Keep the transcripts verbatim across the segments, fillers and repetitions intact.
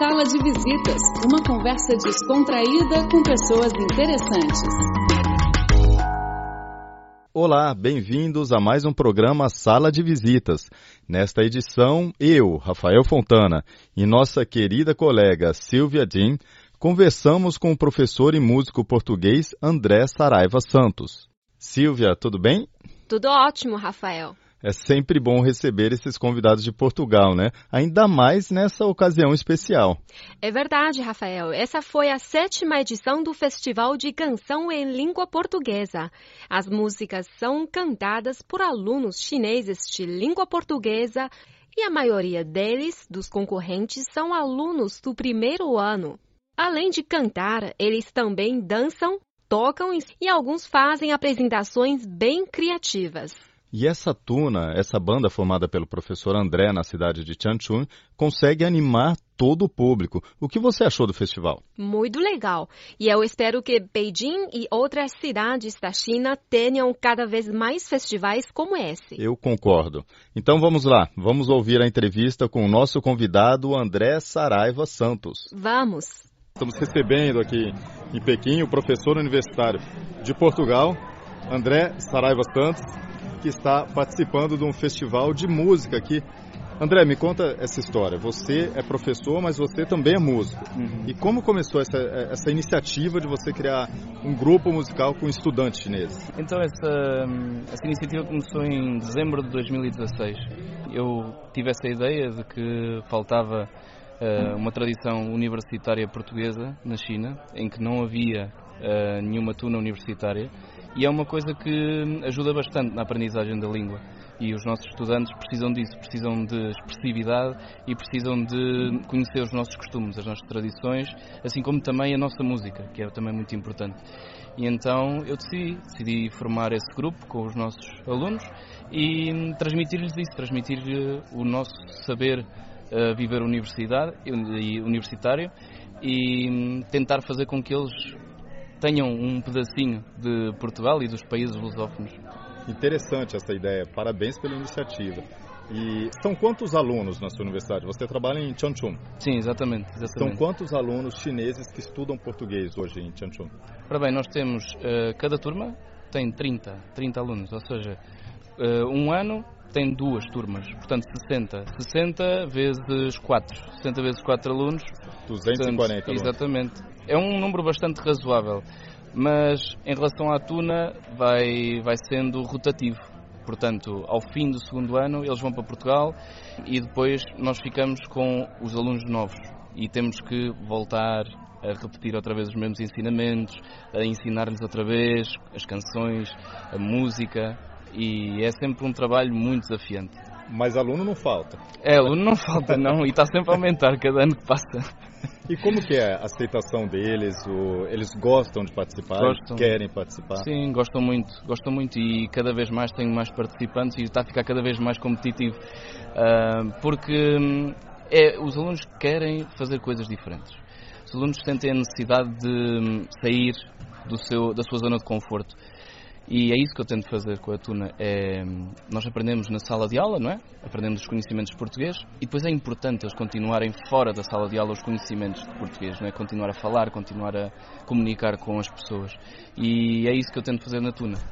Sala de Visitas, uma conversa descontraída com pessoas interessantes. Olá, bem-vindos a mais um programa Sala de Visitas. Nesta edição, eu, Rafael Fontana, e nossa querida colega Silvia Din, conversamos com o professor e músico português André Saraiva Santos. Silvia, tudo bem? Tudo ótimo, Rafael. É sempre bom receber esses convidados de Portugal, né? Ainda mais nessa ocasião especial. É verdade, Rafael. Essa foi a sétima edição do Festival de Canção em Língua Portuguesa. As músicas são cantadas por alunos chineses de língua portuguesa e a maioria deles, dos concorrentes, são alunos do primeiro ano. Além de cantar, eles também dançam, tocam e alguns fazem apresentações bem criativas. E essa tuna, essa banda formada pelo professor André na cidade de Changchun, consegue animar todo o público. O que você achou do festival? Muito legal. E eu espero que Beijing e outras cidades da China tenham cada vez mais festivais como esse. Eu concordo. Então vamos lá, vamos ouvir a entrevista com o nosso convidado André Saraiva Santos. Vamos. Estamos recebendo aqui em Pequim o professor universitário de Portugal, André Saraiva Santos, que está participando de um festival de música aqui. André, me conta essa história. Você é professor, mas você também é músico. Uhum. E como começou essa, essa iniciativa de você criar um grupo musical com estudantes chineses? Então, essa, essa iniciativa começou em dezembro de dois mil e dezasseis. Eu tive essa ideia de que faltava uh, uma tradição universitária portuguesa na China, em que não havia uh, nenhuma tuna universitária. E é uma coisa que ajuda bastante na aprendizagem da língua. E os nossos estudantes precisam disso, precisam de expressividade e precisam de conhecer os nossos costumes, as nossas tradições, assim como também a nossa música, que é também muito importante. E então eu decidi, decidi formar esse grupo com os nossos alunos e transmitir-lhes isso, transmitir-lhes o nosso saber uh, viver universidade, e universitário e tentar fazer com que eles tenham um pedacinho de Portugal e dos países lusófonos. Interessante essa ideia, parabéns pela iniciativa. E são quantos alunos na sua universidade? Você trabalha em Changchun? Sim, exatamente, exatamente. São quantos alunos chineses que estudam português hoje em Changchun? Ora bem, nós temos, uh, cada turma tem trinta, trinta alunos, ou seja, uh, um ano tem duas turmas, portanto sessenta. sessenta vezes quatro, sessenta vezes quatro alunos. duzentos e quarenta alunos. Exatamente. É um número bastante razoável, mas em relação à tuna vai, vai sendo rotativo. Portanto, ao fim do segundo ano eles vão para Portugal e depois nós ficamos com os alunos novos e temos que voltar a repetir outra vez os mesmos ensinamentos, a ensinar-lhes outra vez as canções, a música, e é sempre um trabalho muito desafiante. Mas aluno não falta. É, aluno não falta não, e está sempre a aumentar cada ano que passa. E como que é a aceitação deles? O... Eles gostam de participar? Gostam. Querem participar? Sim, gostam muito, gostam muito e cada vez mais tenho mais participantes e está a ficar cada vez mais competitivo. Uh, porque é, os alunos querem fazer coisas diferentes. Os alunos sentem a necessidade de sair do seu, da sua zona de conforto. E é isso que eu tento fazer com a tuna. É, nós aprendemos na sala de aula, não é? Aprendemos os conhecimentos de português e depois é importante eles continuarem fora da sala de aula os conhecimentos de português, não é? Continuar a falar, continuar a comunicar com as pessoas. E é isso que eu tento fazer na tuna.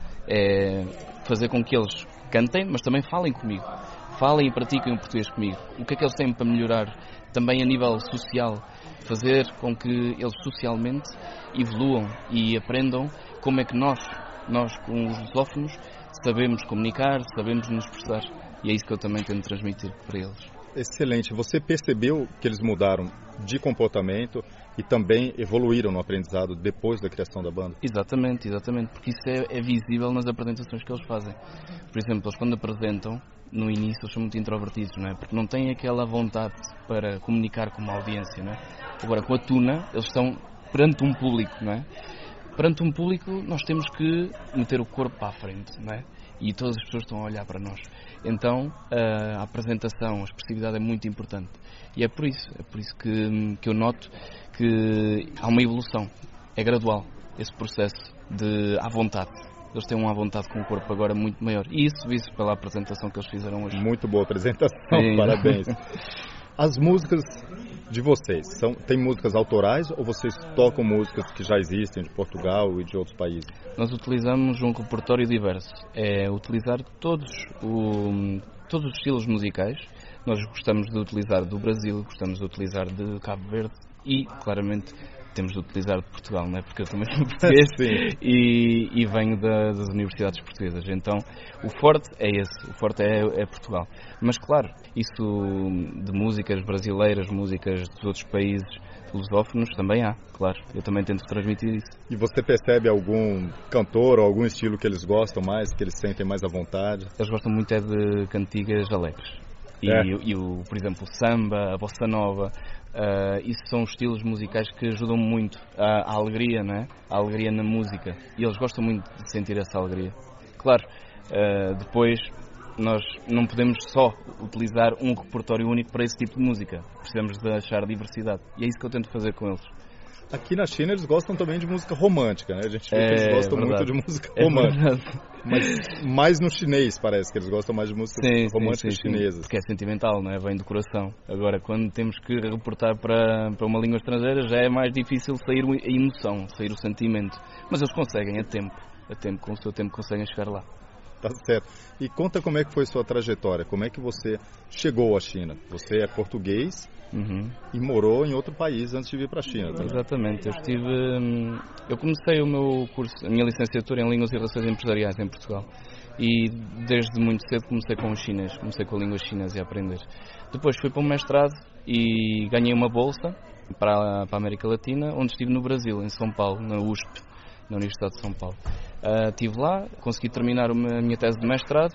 É fazer com que eles cantem, mas também falem comigo. Falem e pratiquem o português comigo. O que é que eles têm para melhorar? Também a nível social. Fazer com que eles socialmente evoluam e aprendam como é que nós... Nós, com os lusófonos, sabemos comunicar, sabemos nos expressar. E é isso que eu também tento transmitir para eles. Excelente. Você percebeu que eles mudaram de comportamento e também evoluíram no aprendizado depois da criação da banda? Exatamente, exatamente. Porque isso é, é visível nas apresentações que eles fazem. Por exemplo, eles quando apresentam, no início eles são muito introvertidos, não é? Porque não têm aquela vontade para comunicar com uma audiência, não é? Agora, com a tuna, eles estão perante um público, não é? Perante um público, nós temos que meter o corpo para a frente, não é? E todas as pessoas estão a olhar para nós. Então, a apresentação, a expressividade é muito importante. E é por isso, é por isso que, que eu noto que há uma evolução. É gradual, esse processo de à vontade. Eles têm uma vontade com o corpo agora muito maior. E isso visto pela apresentação que eles fizeram hoje. Muito boa apresentação, sim. Parabéns. As músicas de vocês? São, tem músicas autorais ou vocês tocam músicas que já existem de Portugal e de outros países? Nós utilizamos um repertório diverso. É utilizar todos, o, todos os estilos musicais. Nós gostamos de utilizar do Brasil, gostamos de utilizar de Cabo Verde e, claramente, temos de utilizar de Portugal, não é? Porque eu também sou português e, e venho da, das universidades portuguesas. Então, o forte é esse, o forte é, é Portugal. Mas, claro, isso de músicas brasileiras, músicas dos outros países lusófonos, também há, claro. Eu também tento transmitir isso. E você percebe algum cantor ou algum estilo que eles gostam mais, que eles sentem mais à vontade? Eles gostam muito é de cantigas alegres. E, é. e o, por exemplo, o samba, a bossa nova, uh, isso são estilos musicais que ajudam muito à, à alegria, não é? À alegria na música. E eles gostam muito de sentir essa alegria. Claro, uh, depois nós não podemos só utilizar um repertório único para esse tipo de música. Precisamos de achar diversidade. E é isso que eu tento fazer com eles. Aqui na China eles gostam também de música romântica, né? A gente vê é, que eles gostam verdade. muito de música é romântica. Verdade. Mas mais no chinês parece que eles gostam mais de músicas sim, românticas sim, sim, chinesas. Sim, porque é sentimental, não é? Vem do coração. Agora, quando temos que reportar para, para uma língua estrangeira, já é mais difícil sair a emoção, sair o sentimento. Mas eles conseguem, a tempo. A tempo, com o seu tempo conseguem chegar lá. Tá certo. E conta como é que foi sua trajetória, como é que você chegou à China. Você é português uhum. e morou em outro país antes de vir para a China. Tá? Exatamente. Eu estive, eu comecei o meu curso, a minha licenciatura em Línguas e Relações Empresariais em Portugal. E desde muito cedo comecei com o chinês, comecei com a língua chinesa a aprender. Depois fui para um mestrado e ganhei uma bolsa para a, para a América Latina, onde estive no Brasil, em São Paulo, na U S P, na Universidade de São Paulo. Uh, estive lá, consegui terminar a minha tese de mestrado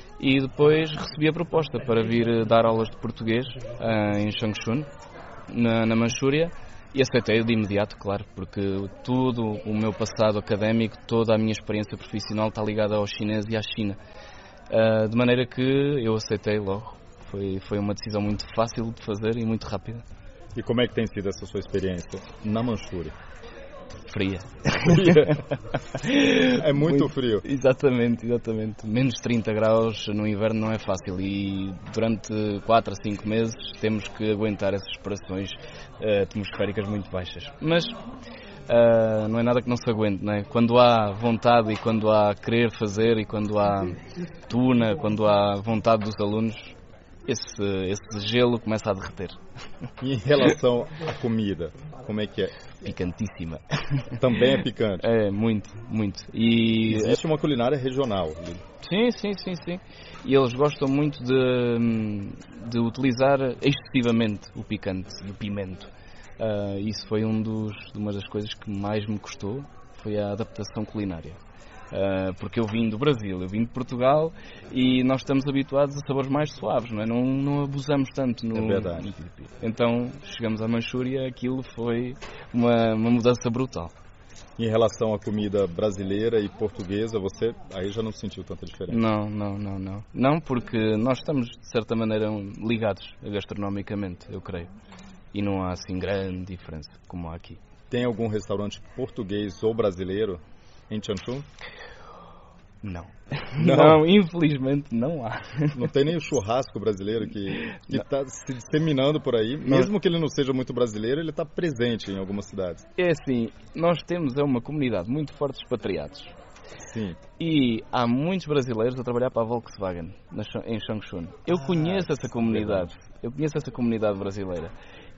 e depois recebi a proposta para vir dar aulas de português uh, em Changchun, na, na Manchúria, e aceitei de imediato, claro, porque tudo o meu passado académico, toda a minha experiência profissional está ligada ao chinês e à China. Uh, de maneira que eu aceitei logo. Foi, foi uma decisão muito fácil de fazer e muito rápida. E como é que tem sido essa sua experiência na Manchúria? Fria. É muito, muito frio. Exatamente, exatamente. Menos trinta graus no inverno não é fácil e durante quatro a cinco meses temos que aguentar essas pressões uh, atmosféricas muito baixas. Mas uh, não é nada que não se aguente, não é? Quando há vontade e quando há querer fazer e quando há tuna, quando há vontade dos alunos, esse, esse gelo começa a derreter. E em relação à comida, como é que é? Picantíssima. Também é picante? É, muito, muito. E existe uma culinária regional. Sim, sim, sim, sim. E eles gostam muito de, de utilizar excessivamente o picante, o pimento. Uh, isso foi um dos, uma das coisas que mais me custou, foi a adaptação culinária. Uh, porque eu vim do Brasil, eu vim de Portugal e nós estamos habituados a sabores mais suaves, não é? Não, não abusamos tanto no... É verdade. Então, chegamos à Manchúria, aquilo foi uma, uma mudança brutal. Em relação à comida brasileira e portuguesa, você aí já não sentiu tanta diferença? Não, não, não, não. Não, porque nós estamos, de certa maneira, ligados gastronomicamente, eu creio. E não há, assim, grande diferença, como há aqui. Tem algum restaurante português ou brasileiro em Changchun? Não. não. Não, infelizmente não há. Não tem nem o churrasco brasileiro que está se disseminando por aí. Mesmo não. que ele não seja muito brasileiro, ele está presente em algumas cidades. É assim, nós temos é uma comunidade muito forte de expatriados. Sim. E há muitos brasileiros a trabalhar para a Volkswagen em Changchun. Eu ah, conheço essa comunidade. Eu conheço essa comunidade brasileira.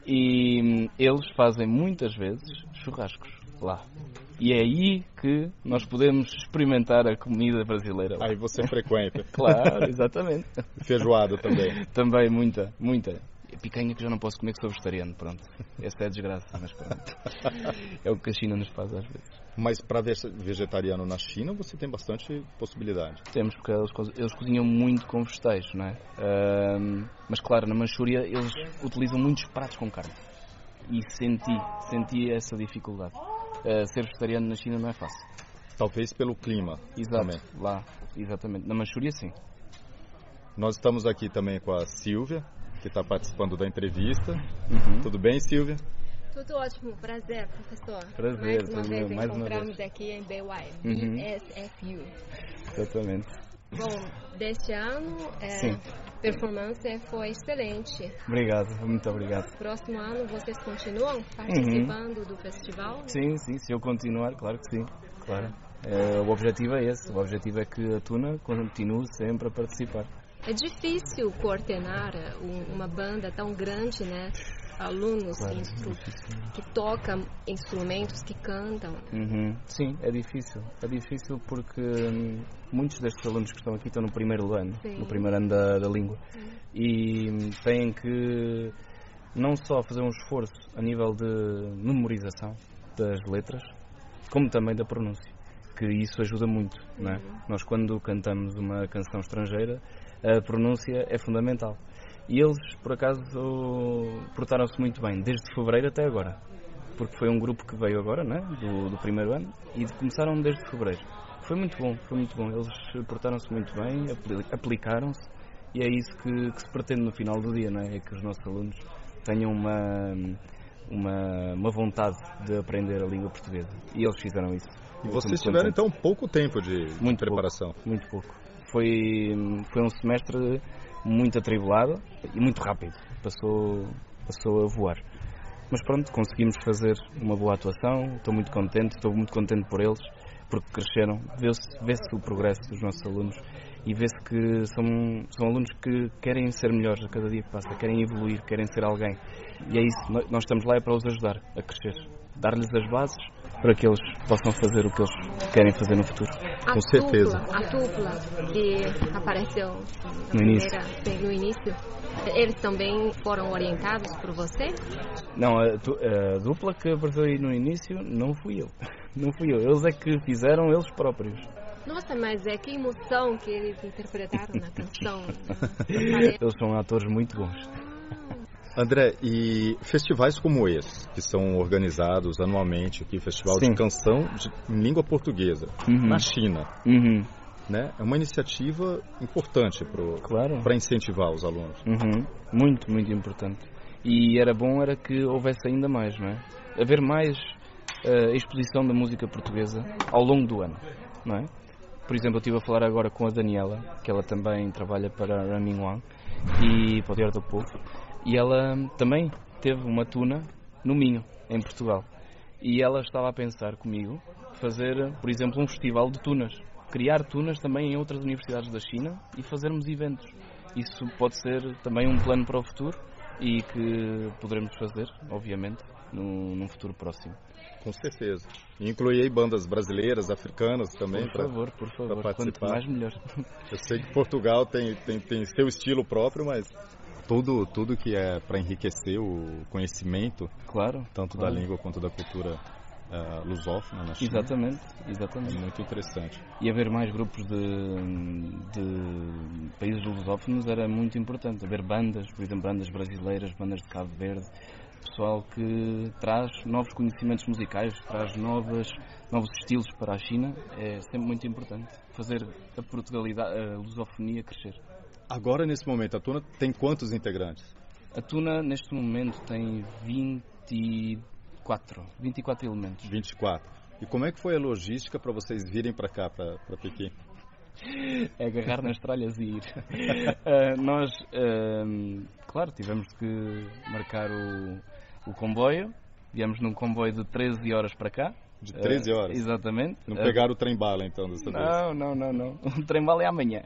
E eles fazem muitas vezes churrascos lá. E é aí que nós podemos experimentar a comida brasileira. Aí você frequenta. Claro, exatamente. Feijoada também. Também, muita, muita. Picanha que já não posso comer, que sou vegetariano, pronto. Essa é a desgraça, mas pronto. É o que a China nos faz às vezes. Mas para vegetariano na China você tem bastante possibilidade. Temos, porque eles, eles cozinham muito com vegetais, não é? Uh, mas claro, na Manchúria eles utilizam muitos pratos com carne. E senti, senti essa dificuldade. Uh, ser vegetariano na China não é fácil. Talvez pelo clima. Exato, também. Lá, exatamente. Na Manchúria, sim. Nós estamos aqui também com a Silvia, que está participando da entrevista. Uhum. Tudo bem, Silvia? Tudo ótimo. Prazer, professor. Prazer. Mais uma tudo vez mais encontramos uma vez. aqui em B Y, uhum. B S F U. Exatamente. Bom, deste ano, Sim. a performance foi excelente. Obrigado, muito obrigado. Próximo ano vocês continuam participando uhum. do festival? Sim, sim, se eu continuar, claro que sim, claro. É, o objetivo é esse, o objetivo é que a Tuna continue sempre a participar. É difícil coordenar uma banda tão grande, né? Alunos claro, instru... é que tocam instrumentos, que cantam. Uhum. Sim, é difícil. É difícil porque hum, muitos destes alunos que estão aqui estão no primeiro ano, Sim. no primeiro ano da, da língua. Sim. E hum, têm que não só fazer um esforço a nível de memorização das letras, como também da pronúncia, que isso ajuda muito, uhum. não é? Nós quando cantamos uma canção estrangeira, a pronúncia é fundamental. E eles, por acaso, portaram-se muito bem, desde fevereiro até agora. Porque foi um grupo que veio agora, né, do, do primeiro ano, e começaram desde fevereiro. Foi muito bom, foi muito bom. Eles portaram-se muito bem, aplicaram-se, e é isso que, que se pretende no final do dia, não é? É que os nossos alunos tenham uma, uma, uma vontade de aprender a língua portuguesa. E eles fizeram isso. E vocês tiveram, então, pouco tempo de muito preparação? Pouco, muito pouco. Foi, foi um semestre muito atribulado e muito rápido, passou, passou a voar. Mas pronto, conseguimos fazer uma boa atuação, estou muito contente, estou muito contente por eles, porque cresceram, vê-se, vê-se o progresso dos nossos alunos e vê-se que são, são alunos que querem ser melhores a cada dia que passa, querem evoluir, querem ser alguém. E é isso, nós estamos lá é para os ajudar a crescer, dar-lhes as bases para que eles possam fazer o que eles querem fazer no futuro. A Com certeza. Dupla, a dupla que apareceu na no primeira, início. no início, eles também foram orientados por você? Não, a, a dupla que apareceu aí no início não fui eu. Não fui eu. Eles é que fizeram eles próprios. Nossa, mas é que emoção que eles interpretaram na canção. Eles são atores muito bons. André, e festivais como esse, que são organizados anualmente aqui, Festival Sim. de Canção de, em Língua Portuguesa, uhum. na China, uhum. né? É uma iniciativa importante para claro. incentivar os alunos. Uhum. Muito, muito importante. E era bom era que houvesse ainda mais, não é? Haver mais uh, exposição da música portuguesa ao longo do ano, não é? Por exemplo, eu estive a falar agora com a Daniela, que ela também trabalha para a Ramin Wang e para o Diário do Povo. E ela também teve uma tuna no Minho, em Portugal. E ela estava a pensar comigo fazer, por exemplo, um festival de tunas. Criar tunas também em outras universidades da China e fazermos eventos. Isso pode ser também um plano para o futuro e que poderemos fazer, obviamente, num, num futuro próximo. Com certeza. E incluir aí bandas brasileiras, africanas também. Por favor, por favor. Quanto mais, melhor. Eu sei que Portugal tem, tem, tem seu estilo próprio, mas tudo, tudo que é para enriquecer o conhecimento, claro, tanto claro. da língua quanto da cultura uh, lusófona na China. Exatamente, exatamente. É muito interessante. E haver mais grupos de, de países lusófonos era muito importante. Haver bandas, por exemplo, bandas brasileiras, bandas de Cabo Verde, pessoal que traz novos conhecimentos musicais, traz novas, novos estilos para a China, é sempre muito importante. Fazer a Portugalidade, a lusofonia crescer. Agora, nesse momento, a Tuna tem quantos integrantes? A Tuna, neste momento, tem vinte e quatro, vinte e quatro elementos. vinte e quatro. E como é que foi a logística para vocês virem para cá, para Pequim? É agarrar nas tralhas e ir. uh, nós, uh, claro, tivemos que marcar o, o comboio. Viemos num comboio de treze horas para cá. De treze horas? Uh, exatamente. Não pegaram uh, o trem-bala, então, dessa não, vez? Não, não, não, não. O trem-bala é amanhã.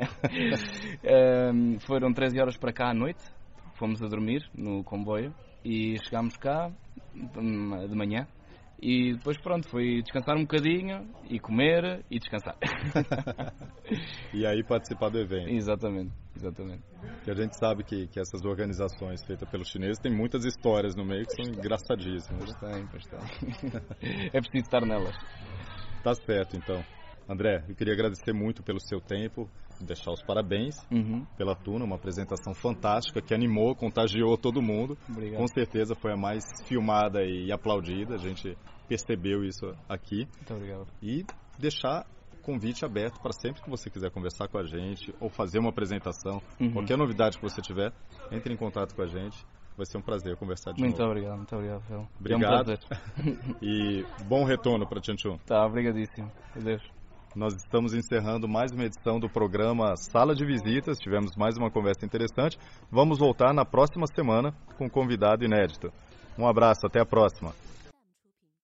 uh, foram treze horas para cá à noite. Fomos a dormir no comboio e chegámos cá de manhã. E depois, pronto, foi descansar um bocadinho e comer e descansar. E aí participar do evento. Exatamente, exatamente. E a gente sabe que, que essas organizações feitas pelos chineses têm muitas histórias no meio que são engraçadíssimas. Pois tem, pois tem. É preciso estar nelas. Tá certo, então. André, eu queria agradecer muito pelo seu tempo, deixar os parabéns uhum. pela Tuna, uma apresentação fantástica que animou, contagiou todo mundo. Obrigado. Com certeza foi a mais filmada e aplaudida, a gente percebeu isso aqui. Muito obrigado. E deixar o convite aberto para sempre que você quiser conversar com a gente ou fazer uma apresentação, uhum. qualquer novidade que você tiver, entre em contato com a gente. Vai ser um prazer conversar de muito novo. Obrigado, muito obrigado, Fel. Obrigado. É um prazer. E bom retorno para Tianchun. Tá, obrigadíssimo. Adeus. Nós estamos encerrando mais uma edição do programa Sala de Visitas. Tivemos mais uma conversa interessante. Vamos voltar na próxima semana com um convidado inédito. Um abraço, até a próxima.